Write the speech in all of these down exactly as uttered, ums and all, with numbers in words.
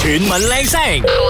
全民靚聲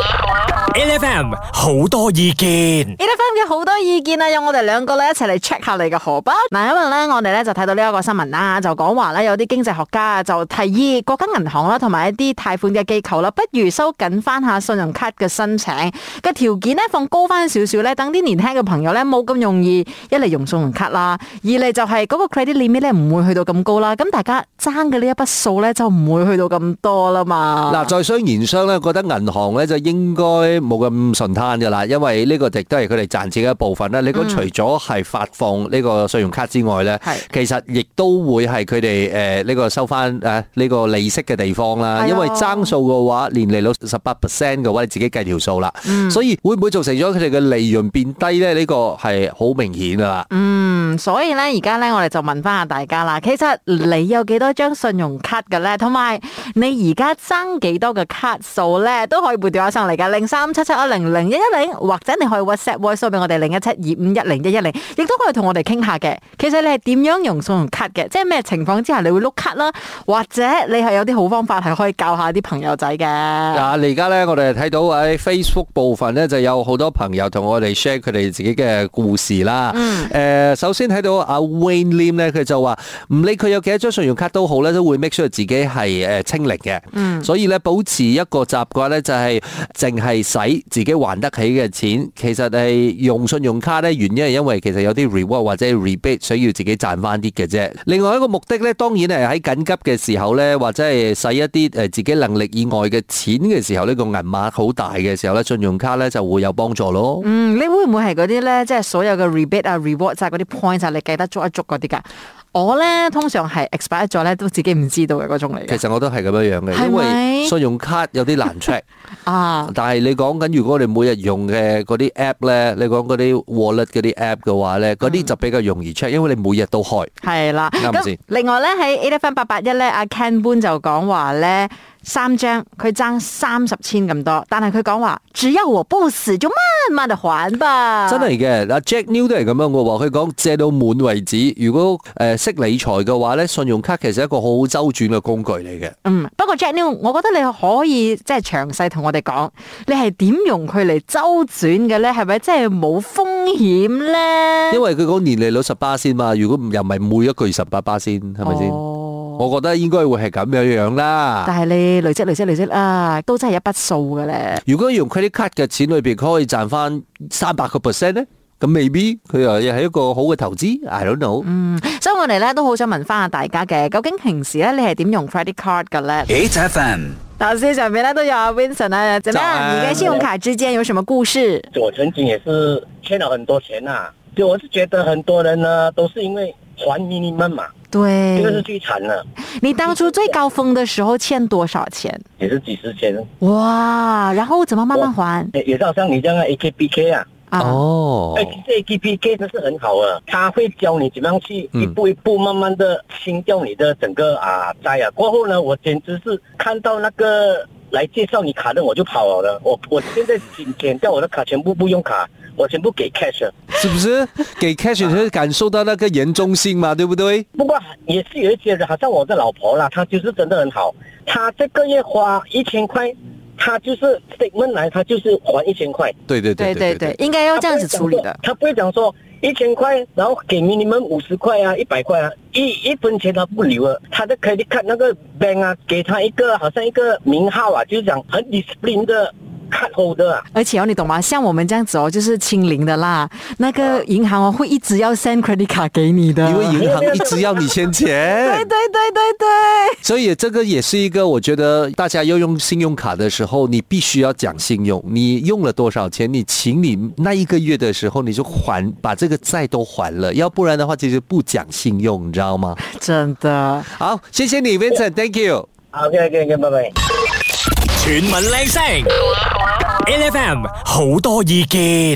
，L F M 好多意見 ，L F M 嘅好多意見啊，有我哋兩個咧一齊嚟 check 下你嘅荷包。嗱，因為咧我哋咧就睇到呢一個新聞啦，就講話咧有啲經濟學家就提議國家銀行啦，同埋一啲貸款嘅機構啦，不如收緊翻下信用卡嘅申請嘅條件咧，放高翻少少咧，等啲年輕嘅朋友咧冇咁容易一嚟用信用卡啦，二嚟就係嗰個 credit limit 咧唔會去到咁高啦，咁大家爭嘅呢一筆數咧就唔會去到咁多啦嘛。 嗱，在商言商咧，覺得銀行咧就應該冇咁順攤噶啦，因為呢個亦都係佢哋賺錢嘅一部分啦。你講除咗係發放呢個信用卡之外咧， 嗯、 其實亦都會係佢哋誒呢個收翻誒呢個利息嘅地方啦。因為爭數嘅話，年利率十八 percent 嘅話，你自己計條數啦。嗯、所以會唔會造成咗佢哋嘅利潤變低咧？呢、呢個係好明顯噶啦。 嗯，所以咧而家咧我哋就問翻下大家啦，其實你有幾多張信用卡嘅咧？同埋你而家爭幾多嘅卡數咧？都可以撥電話上嚟噶，零三七七一零零一一零，或者你可以 WhatsApp voice 俾我哋零一七二五一零一一零，亦都可以同我哋傾下嘅。其實你係點樣用信用卡嘅？即係咩情況之下你會碌卡啦？或者你係有啲好方法係可以教下啲朋友仔嘅。 嗱，你而家咧我哋睇到喺 Facebook 部分咧就有好多朋友同我哋 share 佢哋自己嘅故事啦。嗯。誒、呃，首先睇到阿 Wayne Lim 咧，佢就話唔理佢有幾多張信用卡都好咧，都會 make sure 自己係誒清零嘅。嗯。所以咧保持一個習慣咧就係淨係使自己還得起嘅錢。其實係用信用卡咧，原因係因為其實有啲 reward 或者 rebate 需要自己賺翻啲嘅啫。另外一個目的咧，當然係喺緊急嘅時候咧，或者係使一啲誒自己能力以外嘅錢嘅時候，呢個銀碼好大嘅時候咧，信用卡咧就會有幫助咯。 嗯，你會唔會係嗰啲咧，即係所有嘅 rebate 啊、reward 就係嗰啲 point 啊，你記得捉一捉嗰啲噶？我咧通常係 expire 咗咧，都自己唔知道嘅嗰種嚟嘅。 其實我都係咁樣樣嘅，因為信用卡有啲難 check 啊。 但係你講緊如果我哋每日用嘅嗰啲 app 咧，你講嗰啲 wallet 嗰啲 app 嘅話咧，嗰啲就比較容易 check，因為你每日都開。係啦，啱唔啱先？ 另外咧喺 A F M 八八一咧，阿 Ken Boon 就講話咧。三張佢爭三十千咁多，但係佢講話只要我不死就慢慢地還吧。 真係嘅，嗱 Jack New 都係咁樣嘅喎，佢講借到滿為止。如果誒識理財嘅話咧，信用卡其實係一個好好周轉嘅工具嚟嘅。 嗯，不過 Jack New，我覺得你可以即係詳細同我哋講，你係點用佢嚟周轉嘅咧？係咪即係冇風險咧？ 因為佢講年利率十八先嘛，如果唔又唔係每一個月十八巴先，係咪先？哦我覺得應該會係咁樣樣啦。 但係你累積累積累積啊，都真係一筆數嘅咧。 如果用 credit card 嘅錢裏邊，佢可以賺翻三百個 percent 咧，咁未必佢又係一個好嘅投資。I don't know。 嗯，所以我哋咧都好想問翻下大家嘅，究竟平時咧你係點用 credit card 嘅咧 ？H F M 老師上面咧都有阿 Vincent 啊，怎麼樣？你跟信用卡之間有什麼故事？ 我曾經也是欠了很多錢啊，就我是覺得很多人呢都是因為還 minimum 嘛。 對， 這個是最慘了。 你當初最高峰的時候欠多少錢？ 也是幾十千。 哇，然後怎麼慢慢還？ 也是好像你這樣 A K P K 啊。 哦。 哎，這 A K P K 真是很好啊，他會教你怎麼樣去一步一步慢慢的清掉你的整個啊債啊。過後呢，我簡直是看到那個來介紹你卡的我就跑了。我我現在剪掉我的卡，全部不用卡。我全部給 cash， 是不是？給 cash 你會感受到那個嚴重性嘛，對不對？ 不過也是有一些人，好像我的老婆啦，她就是真的很好，她這個月花一千塊，她就是 statement 來，她就是還一千塊。 對對對對對對，應該要這樣子處理的。 她不會講說一千塊，然後給 minimum 五十塊啊，一百塊啊，一一分錢她不留啊。她的 credit card 那個 bank 啊，給她一個好像一個名號啊，就是講很 discipline 的。卡後的、啊， 而且哦，你懂嗎？像我們這樣子哦，就是清零的啦。那個銀行哦，會一直要 send credit 卡給你的， 因為銀行一直要你欠錢。 對對對對對。 所以這個也是一個，我覺得大家要用信用卡的時候，你必須要講信用。你用了多少錢，你請你那一個月的時候，你就還，把這個債都還了。要不然的話，其實不講信用，你知道嗎？ 真的。 好，謝謝你 ，Vincent，Thank you。 OK OK OK，拜拜。 全民靚聲 ，L F M 好多意見。 L F M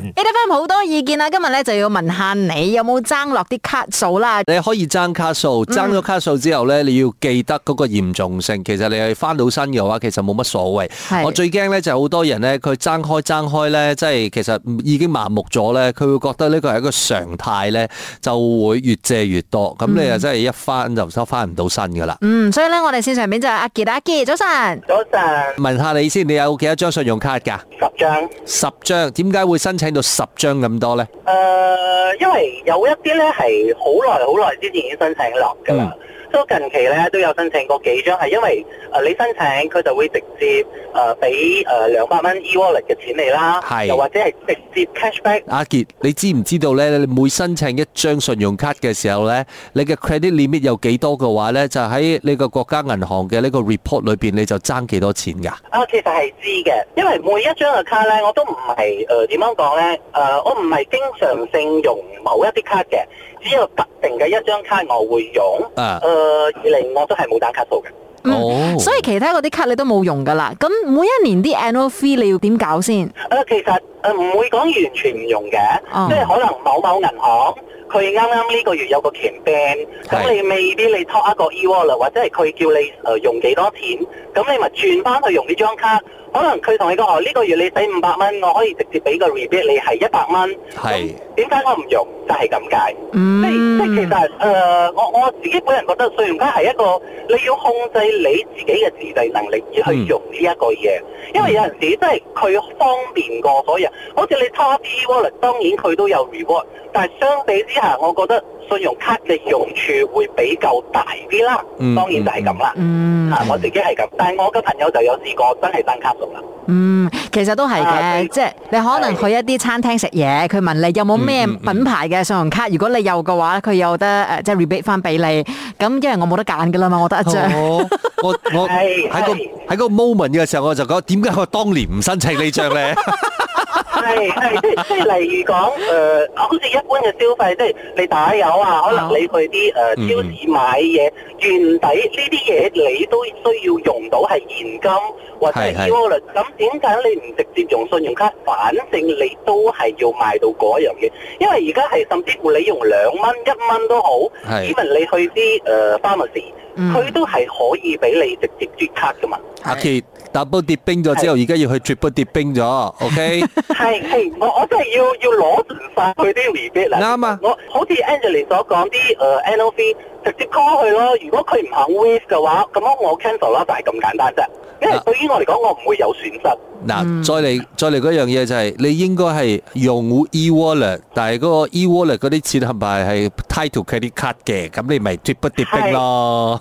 L M 好多意見啊，今日咧就要問下你有冇爭落啲卡數啦？ 你可以爭卡數，爭咗卡數之後咧，你要記得嗰個嚴重性。其實你係翻到身嘅話，其實冇乜所謂。我最驚咧就係好多人咧，佢爭開爭開咧，即係其實已經麻木咗咧，佢會覺得呢個係一個常態咧，就會越借越多。咁你又真係一翻就收翻唔到身噶啦。 嗯，所以咧我哋線上面就係阿傑，阿傑早晨。 早晨。 問下你先，你有幾多張信用卡㗎？ 十張。 十張，點解會申請到十張咁多咧？ 誒、呃，因為有一啲咧係好耐好耐之前已經申請落㗎啦。所以近期咧都有申請過幾張，係因為誒、呃、你申請佢就會直接誒俾誒兩百蚊 e-wallet 嘅錢你啦，又或者係直接 cashback。阿傑，你知唔知道咧？你每申請一張信用卡嘅時候咧，你嘅 credit limit 有幾多嘅話咧，就喺呢個國家銀行嘅呢個 report 裏邊，你就爭幾多錢㗎？ 啊，其實係知嘅，因為每一張嘅卡咧，我都唔係誒點樣講咧？誒、呃，我唔係經常性用某一啲卡嘅，只有特定嘅一張卡我會用。啊。誒、呃，二嚟我都係冇打卡數嘅。 嗯、哦。所以其他嗰啲卡你都冇用㗎啦。咁每一年啲 annual fee 你要點搞先？誒、 呃，其實誒唔會講完全唔用嘅， 哦、 即係可能某某銀行佢啱啱呢個月有個 campaign，咁你未必你 top 一個 e-wallet， 或者係佢叫你誒用幾多錢，咁你咪轉翻去用呢張卡。可能佢同你講哦，呢個月你使五百蚊，我可以直接俾個 rebate 你係一百蚊。係。點解我唔用？就係咁解。嗯。即即其實誒、呃，我我自己本人覺得信用卡係一個你要控制你自己嘅自制能力而去用呢一個嘢，嗯、因為有陣時即係佢方便過所有人。好似你 top e-wallet， 當然佢都有 reward， 但係相比之下，我覺得信用卡嘅用處會比較大啲啦。嗯。當然就係咁啦。嗯。啊，我自己係咁，但係我嘅朋友就有試過真係爭卡數啦。 嗯，其實都係嘅，啊、即係你可能去一啲餐廳食嘢，佢問你有冇咩品牌嘅信用卡，嗯嗯嗯、如果你有嘅話，佢有得誒，即係 rebate 翻俾你。咁因為我冇得揀噶啦嘛，我得一張。 哦、我我喺個喺個 moment 嘅時候，我就講點解我當年唔申請呢張咧？ 係係即即係例如講誒、呃，好似一般嘅消費，即係你打油啊，可能你去啲誒、呃嗯、超市買嘢，原底呢啲嘢你都需要用到係現金或者係 e-wallet， 咁點解你唔直接用信用卡？反正你都係要買到嗰樣嘢，因為而家係甚至乎你用兩蚊一蚊都好，因為你去啲誒 pharmacy，佢都係可以俾你直接轉卡噶嘛。 阿傑 double 跌冰咗之後，而家要去 triple 跌冰咗 ，OK？ 係係，我我真係要要攞盡晒佢啲 rebate 啦。啱啊！我好似 Angeline 所講啲誒 annual fee，直接 call 佢咯。如果佢唔肯 waive 嘅話，咁樣我 cancel 啦，就係咁簡單啫。因為對於我嚟講，我唔會有損失。 嗱，再嚟再嚟嗰樣嘢就係，你應該係用 e-wallet， 但係嗰個 e-wallet 嗰啲錢係咪係 tie to credit card 嘅？咁你咪 triple 跌冰咯。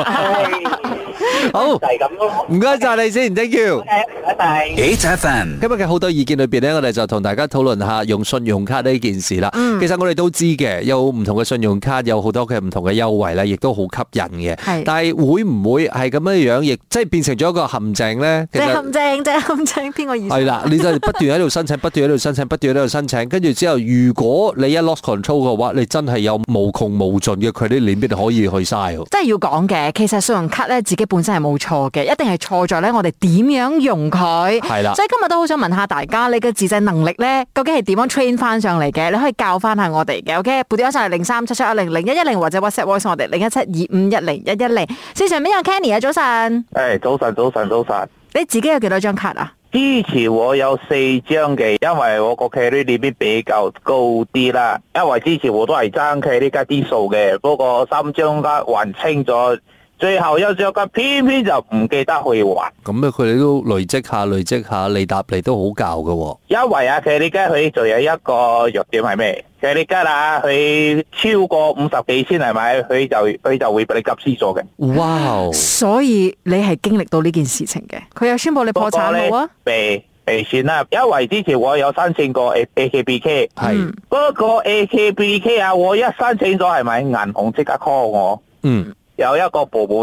好，就係咁咯。唔該晒你先 ，thank you。 拜拜。 H F M 今日嘅好多意見裏邊咧，我哋就同大家討論下用信用卡呢件事啦。嗯、其實我哋都知嘅，有唔同嘅信用卡，有好多嘅唔同嘅優惠咧，亦都好吸引嘅。係。但係會唔會係咁樣樣，亦即係變成咗一個陷阱咧？ 即係陷阱，即係陷阱，邊個意思？ 係啦，你就不斷喺度申請，不斷喺度申請，不斷喺度申請，跟住之後，如果你一 lost control 嘅話，你真係有無窮無盡嘅 credit limit可以去嘥。 即係要講嘅，其實信用卡咧自己本身係冇錯嘅，一定係錯在咧我哋點樣用佢。係啦，所以今日都好想問下大家，你嘅自制能力咧，究竟係點樣 train 翻上嚟嘅？你可以教翻下我哋嘅，OK？撥電話上嚟零三七七一零零一一零或者 WhatsApp voice 我哋零一七二五一零一一零。線上邊有 Kenny 啊，早晨。 誒，早晨，早晨，早晨。 你自己有幾多張卡啊？ 之前我有四張嘅，因為我個 credit limit比較高啲啦。因為之前我都係爭 credit卡啲數嘅，不過三張卡還清咗。最後一張卡偏偏就唔記得去還， 咁咧佢哋都累積下累積下，利搭利都好教噶。 因為啊，佢哋家佢仲有一個弱點係咩？佢哋家啊，佢超過五十幾千係咪？佢就佢就會俾你急死咗嘅。 哇！所以你係經歷到呢件事情嘅，佢有宣布你破產冇啊？ 被被算啦，因為之前我有申請過 A K B K， 係嗰個 A K B K 啊，我一申請咗係咪銀行即刻 call 我？嗯。有一個 promotion，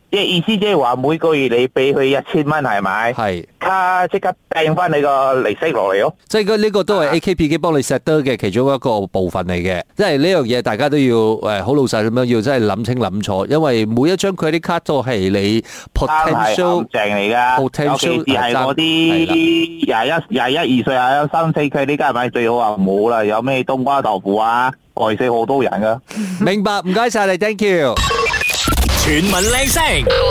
即係意思即係話每個月你俾佢一千蚊係咪？ 係， 卡即刻掟翻你個利息落嚟咯。 即係呢個都係 A K P 機幫你 set 得嘅其中一個部分嚟嘅。即係呢樣嘢大家都要誒好老實咁樣要真係諗清諗楚，因為每一張 credit card 都係你 potential 正嚟㗎，尤其是係我啲廿一、廿一二歲啊、三四 credit card 係咪最好啊？冇啦，有咩冬瓜豆腐啊，害死好多人㗎。 明白，唔該晒你 ，thank you。 全民靚聲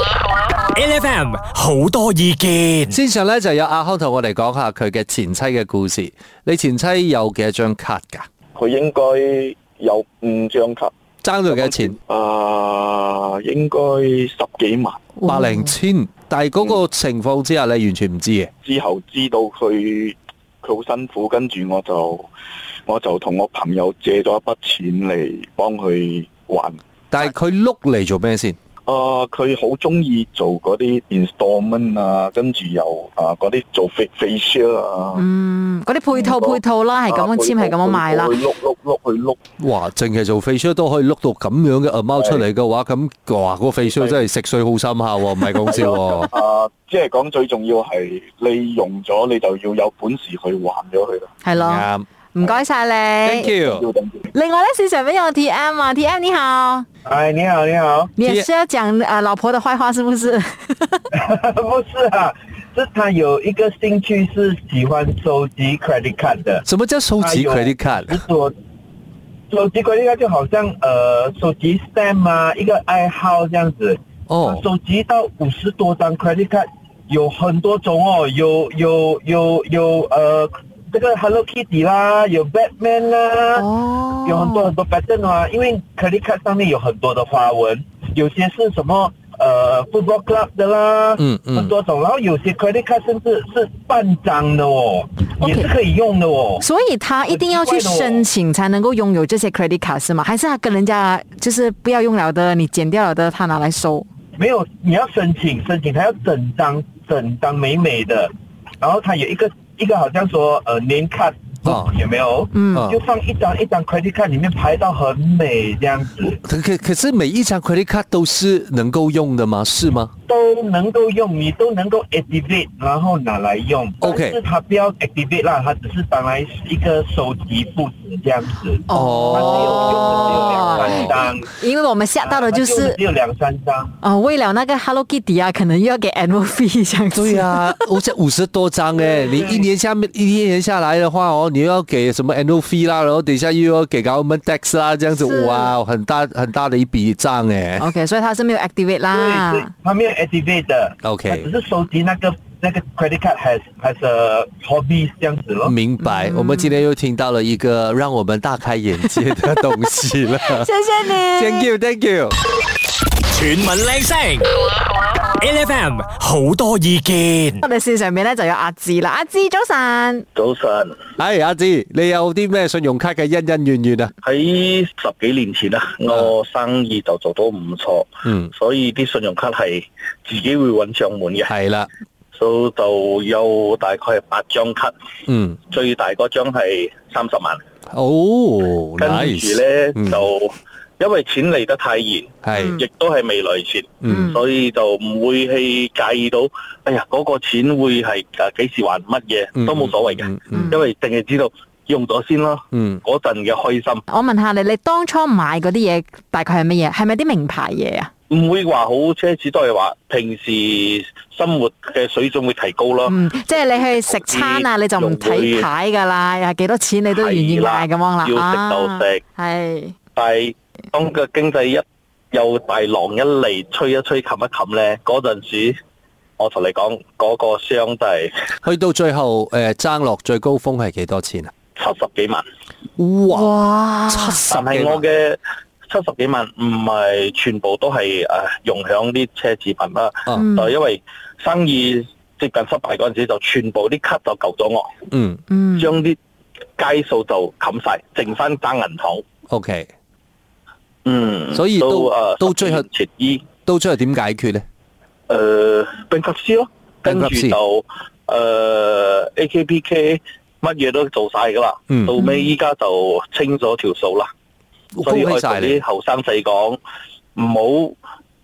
，L F M 好多意見。 先上咧就有阿康同我哋講下佢嘅前妻嘅故事。你前妻有幾多張卡噶？ 佢應該有五張卡， 爭咗幾多錢？ 啊，應該十幾萬， 百零千。但係嗰個情況之下，你完全唔知嘅。 之後知道佢佢好辛苦，跟住我就我就同我朋友借咗一筆錢嚟幫佢還。 但係佢碌嚟做咩先？ 啊！佢好中意做嗰啲 installment 啊，跟住又啊嗰啲做 facial 啊， 嗯，嗰啲配套配套啦，係咁樣簽，係咁樣賣啦。 去碌碌碌去碌， 哇！淨係做 facial 都可以碌到咁樣嘅 amount 出嚟嘅話，咁哇，個 facial 真係食水好深下喎，唔係講笑喎。 啊，即係講最重要係你用咗，你就要有本事去還咗佢啦。 係咯。 啱。 唔該晒你 ，thank you。 另外咧，市場邊有 T M 啊 ，T M 你好， 哎，你好，你好， 你也是要講呃老婆的壞話是不是？ 不是啊，是他有一個興趣是喜歡收集 credit card 的。 什麼叫收集 credit card？ 我收集 credit card 就好像呃收集 stamp 啊，一個愛好這樣子。 哦， 收集到五十多張 credit card，有很多種哦，有有有有呃。這個 Hello Kitty 啦，有 Batman 啦，哦，有很多很多 pattern 啊，因為 credit card 上面有很多的花紋，有些是什麼呃 football club 的啦，嗯嗯，很多種，然後有些 credit card 甚至是半張的哦， okay，也是可以用的哦。所以他一定要去申請才能夠擁有這些 credit card 是嗎？還是他跟人家就是不要用了的，你剪掉了的，他拿來收？ 沒有，你要申請，申請他要整張整張美美的，然後他有一個。一個好像說，呃，年卡，哦，有沒有？嗯，就放一張一張 credit card 裏面排到很美，這樣子。 可可可是每一張 credit card 都是能夠用的嗎？是嗎？ 都能夠用，你都能夠 activate，然後拿來用。OK，但是它不要 activate 啦，它只是當來一個收集布置這樣子。哦，它只有用的只有兩三張。因為我們嚇到的就是只有兩三張。哦，為了那個 Hello Kitty 啊，可能又要給 annual fee 這樣子。 對啊，我這五十多張誒，你一年下面一年下來的話哦，你又要給什麼 annual fee 啦，然後等一下又要給 government tax 啦，這樣子哇，很大很大的一筆賬誒。 OK，所以它是沒有 activate 啦。 對，它沒有 activate 的。 OK， 只是收集那個那個 credit card has has a hobby 這樣子咯。 明白，我們今天又聽到了一個讓我們大開眼界的東西了。 謝謝你 ，Thank you，Thank you。 全民靚聲 ，L F M 好多意見。 我哋線上面咧就有阿志啦，阿志早晨。 早晨， 係阿志，你有啲咩信用卡嘅恩恩怨怨啊？ 喺十幾年前啊，我生意就做到唔錯，嗯，所以啲信用卡係自己會揾上門嘅。 係啦， 所以就有大概係八張卡，嗯，最大嗰張係三十萬。 哦， 跟住咧就。因為錢嚟得太嚴，係，亦都係未來錢，嗯，所以就唔會去介意到，哎呀，嗰個錢會係誒幾時還乜嘢，都冇所謂嘅，因為淨係知道用咗先咯，嗯，嗰陣嘅開心。 我問下你，你當初買嗰啲嘢大概係乜嘢？係咪啲名牌嘢啊？ 唔會話好奢侈，都係話平時生活嘅水準會提高咯。 嗯，即係你去食餐啊，你就唔睇牌噶啦，又係幾多錢你都願意買咁樣啦。 要食就食， 係， 但係。當個經濟一有大浪一嚟，吹一吹，冚一冚咧，嗰陣時我同你講，嗰、那個箱就係、是、 去到最後誒，爭落最高峰係幾多錢啊？ 七十幾萬。 哇！七十幾萬，但係我嘅七十幾萬唔係全部都係誒用響啲奢侈品啦，嗯、就因為生意接近失敗嗰陣時，就全部啲卡就救咗我。嗯嗯，將啲街數就冚晒，剩翻爭銀行。 OK。 嗯， 所以都誒， 到最後切衣， 到最後點解決咧？ 誒，冰級師咯，跟住就誒 A K P K 乜嘢都做晒噶啦，到尾依家就清咗條數啦。所以我同啲後生仔講，唔好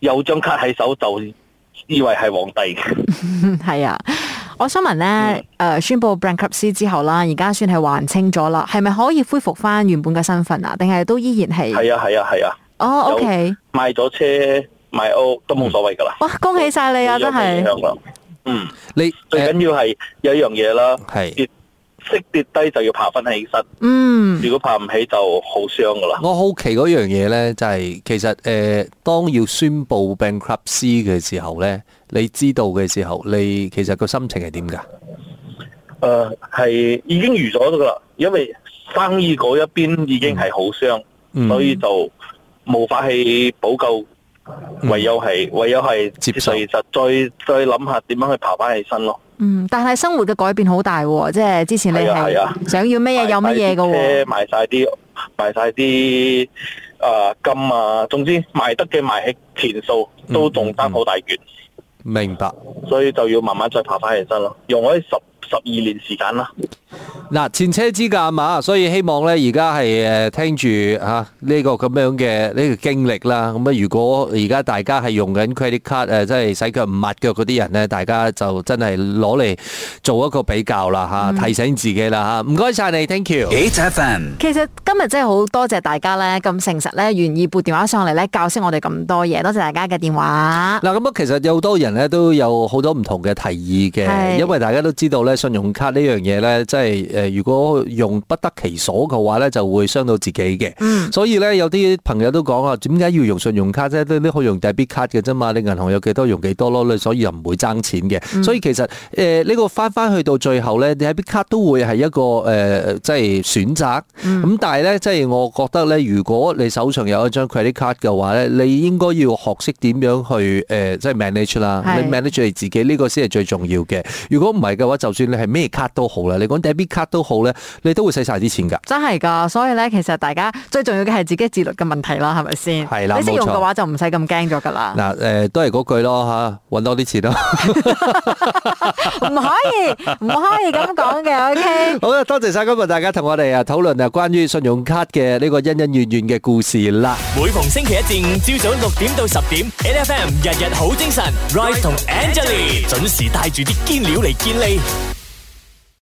有張卡喺手就以為係皇帝嘅。 係啊，我想問咧，誒、嗯，宣布 bankruptcy 之後啦，而家算係還清咗啦，係咪可以恢復翻原本嘅身份啊？定係都依然係？ 係啊係啊係啊。 哦 ，OK。 賣咗車賣屋都冇所謂噶啦。 哇，恭喜晒你啊！真係。 嗯，你最緊要係有一樣嘢啦， 係跌識跌低就要爬翻起身。 嗯， 如果爬唔起就好傷噶啦。 我好奇嗰樣嘢咧，就係、是、其實誒、呃，當要宣布 bankruptcy 嘅時候咧，你知道嘅時候，你其實個心情係點噶？誒、 呃，係已經預咗噶啦，因為生意嗰一邊已經係好傷， 嗯、 所以就無法去補救。唯有係唯有係接受，其實再再諗下點樣去爬翻起身咯。 嗯，但係生活嘅改變好大喎，即係之前你係想要乜嘢有乜嘢嘅喎， 賣晒啲賣晒啲誒金啊，總之賣得嘅賣起錢數都仲爭好大橛。 明白， 所以就要慢慢再爬翻起身咯，用咗十十二年時間啦。 嗱，前車之鑑嘛，所以希望咧而家係誒聽住吓呢個咁樣嘅呢個經歷啦。咁啊，如果而家大家係用緊 credit card 誒，即係洗腳唔抹腳嗰啲人咧，大家就真係攞嚟做一個比較啦吓，嗯、提醒自己啦吓。唔該晒你 ，thank you。H F M。 其實今日真係好多謝大家咧，咁誠實咧，願意撥電話上嚟咧，教識我哋咁多嘢。多謝大家嘅電話。 嗱，咁啊，其實有好多人咧都有好多唔同嘅提議嘅，因為大家都知道咧，信用卡呢樣嘢咧，即係誒。如果用不得其所嘅話咧，就會傷到自己嘅。嗯，所以咧有啲朋友都講啊，點解要用信用卡啫？都都可以用 debit card 嘅啫嘛。你銀行有幾多用幾多咯，你所以又唔會爭錢嘅。嗯、所以其實誒呢、呃這個翻翻去到最後咧，debit card 都會係一個誒、呃、即係選擇。咁、嗯、但係咧，即係我覺得咧，如果你手上有一張 credit card 嘅話咧，你應該要學識點樣去誒、呃、即係 manage 啦。你 manage 你自己呢、這個先係最重要嘅。如果唔係嘅話，就算你係咩卡都好啦，你講 debit card 都好咧，你都會使晒啲錢噶。真係噶，所以咧，其實大家最重要嘅係自己自律嘅問題啦，係咪先？係啦，你識用嘅話就唔使咁驚咗噶啦。嗱，誒，都係嗰句咯吓，搵多啲錢咯。唔可以，唔可以咁講嘅。OK。好啦，多謝晒今日大家同我哋啊討論啊關於信用卡嘅呢個恩恩怨怨嘅故事啦。每逢星期一至五朝早六點到十點 ，N F M 日日好精神 ，Rise 同 Angelie 準時帶住啲堅料嚟見你。